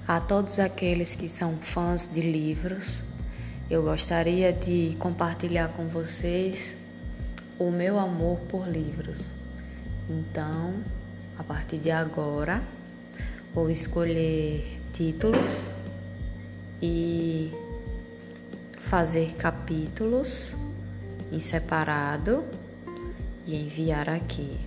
A todos aqueles que são fãs de livros, eu gostaria de compartilhar com vocês o meu amor por livros. Então, a partir de agora, vou escolher títulos e fazer capítulos em separado e enviar aqui.